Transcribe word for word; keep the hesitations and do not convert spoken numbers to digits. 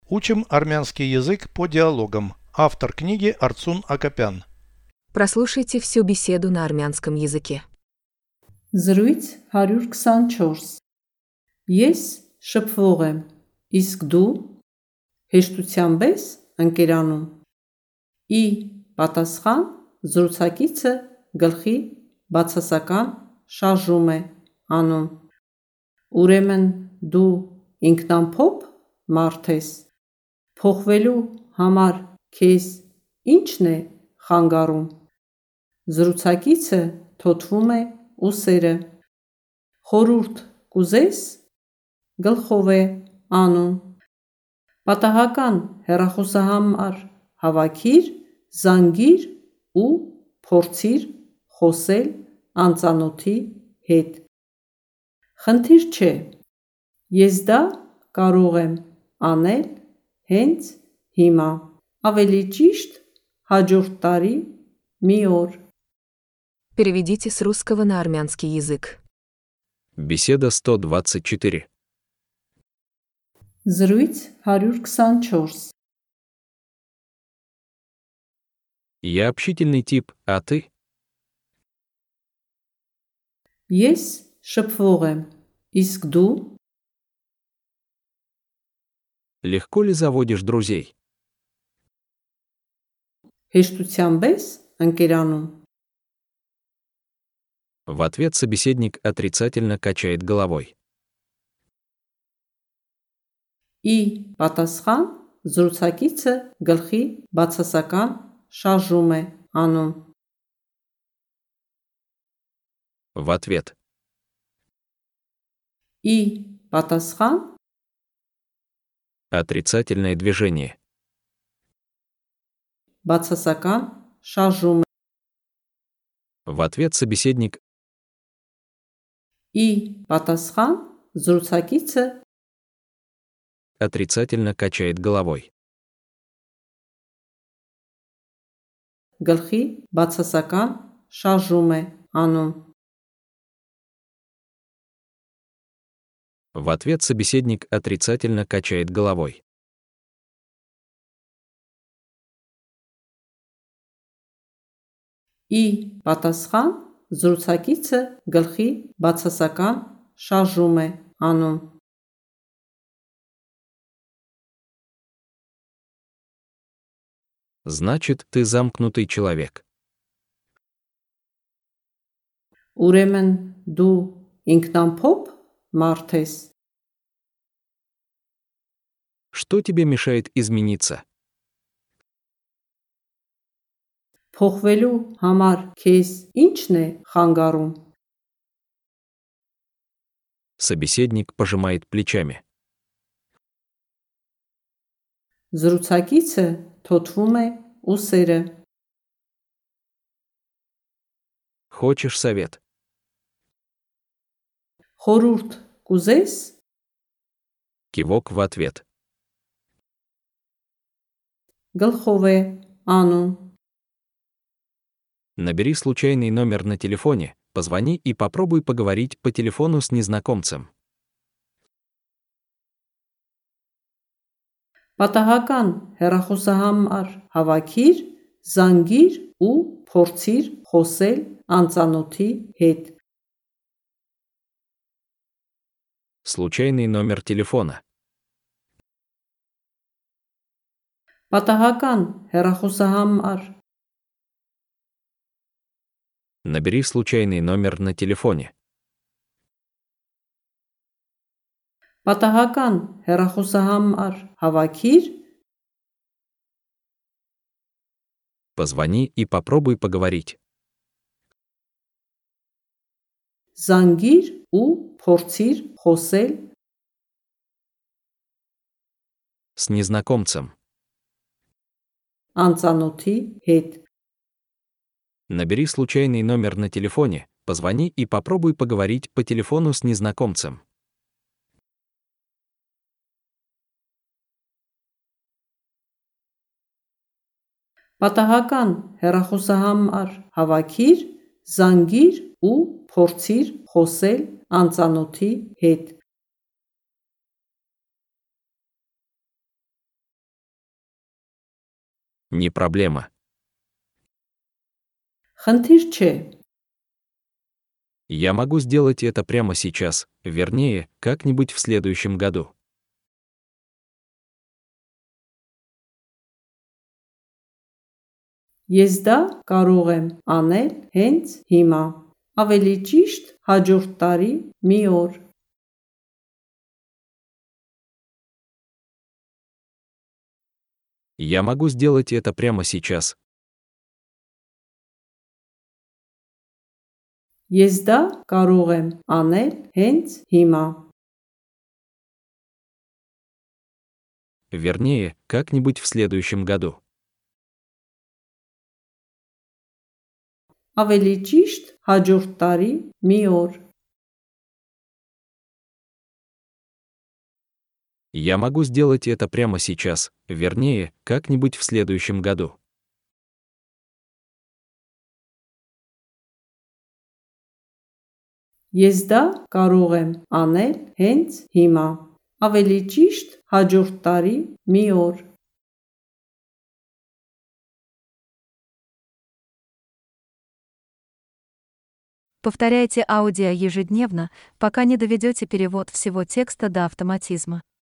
Учим армянский язык по диалогам. Автор книги Арцун Акопян. Прослушайте всю беседу на армянском языке. Զրույց հարյուր քսանչորս Ես շփվող եմ, իսկ դու հեշտությամբ ես ընկերանում։ Ի պատասխան զրուցակիցը գլխի բացասական շարժում է անում։ Ուրեմն դու ինքնամփոփ մարդ ես։ Փոխվելու համար քեզ ի՞նչն է խանգարում։ Զրուցակիցը թոթվում է ուսերը։ Խորհուրդ կուզես, գլխով է անում։ Պատահական հեռախոսահամար հավաքիր, զանգիր ու փորձիր խոսել անծանոթի հետ։ Խնդիր չէ, ես դա կարող եմ անել հենց հիմա, ավելի ճիշտ հաջորդ տարի մի օր։ Переведите с русского на армянский язык. Беседа сто двадцать четыре. Զրույց հարյուր քսանչորս Я общительный тип, а ты? Ես շփվող եմ, իսկ դու Легко ли заводишь друзей? հեշտությամբ ես ընկերանում։ В ответ собеседник отрицательно качает головой. Ի պատասխան զրուցակիցը գլխի բացասական շարժում է անում։ В ответ. Ի պատասխան Отрицательное движение. բացասական շարժում է։ В ответ собеседник Ի պատասխան զրուցակիցը отрицательно качает головой. գլխի բացասական շարժում է անում։ В ответ собеседник отрицательно качает головой. Ի պատասխան զրուցակիցը գլխի բացասական շարժում է անում։ Значит, ты замкнутый человек. Ուրեմն դու ինքնամփոփ մարդ ես։ Что тебе мешает измениться? Փոխվելու համար քեզ ի՞նչն է խանգարում։ Собеседник пожимает плечами. Զրուցակիցը թոթվում է ուսերը։ Хочешь совет? Խորհուրդ կուզես, Кивок в ответ. գլխով է անում։ Набери случайный номер на телефоне, позвони и попробуй поговорить по телефону с незнакомцем. Պատահական հեռախոսահամար հավաքիր, զանգիր ու փորձիր խոսել անծանոթի հետ։ Случайный номер телефона. Պատահական հեռախոսահամար Набери случайный номер на телефоне. Պատահական հեռախոսահամար հավաքիր, Позвони и попробуй поговорить. զանգիր ու փորձիր խոսել С незнакомцем. անծանոթի հետ։ Набери случайный номер на телефоне, позвони и попробуй поговорить по телефону с незнакомцем. Պատահական հեռախոսահամար հավաքիր, զանգիր ու փորձիր խոսել անծանոթի հետ։ Не проблема. Խնդիր չէ։ Я могу сделать это прямо сейчас, вернее, как-нибудь в следующем году. Ես դա կարող եմ անել հենց հիմա։ Ավելի ճիշտ, հաջորդ տարի մի օր։ Я могу сделать это прямо сейчас. Ես դա կարող եմ անել հենց հիմա։ Вернее, как-нибудь в следующем году. Ավելի ճիշտ, հաջորդ տարի մի օր։ Я могу сделать это прямо сейчас, вернее, как-нибудь в следующем году. Ես դա կարող եմ անել հենց հիմա։ Ավելի ճիշտ, հաջորդ տարի մի օր։ Повторяйте аудио ежедневно, пока не доведете перевод всего текста до автоматизма.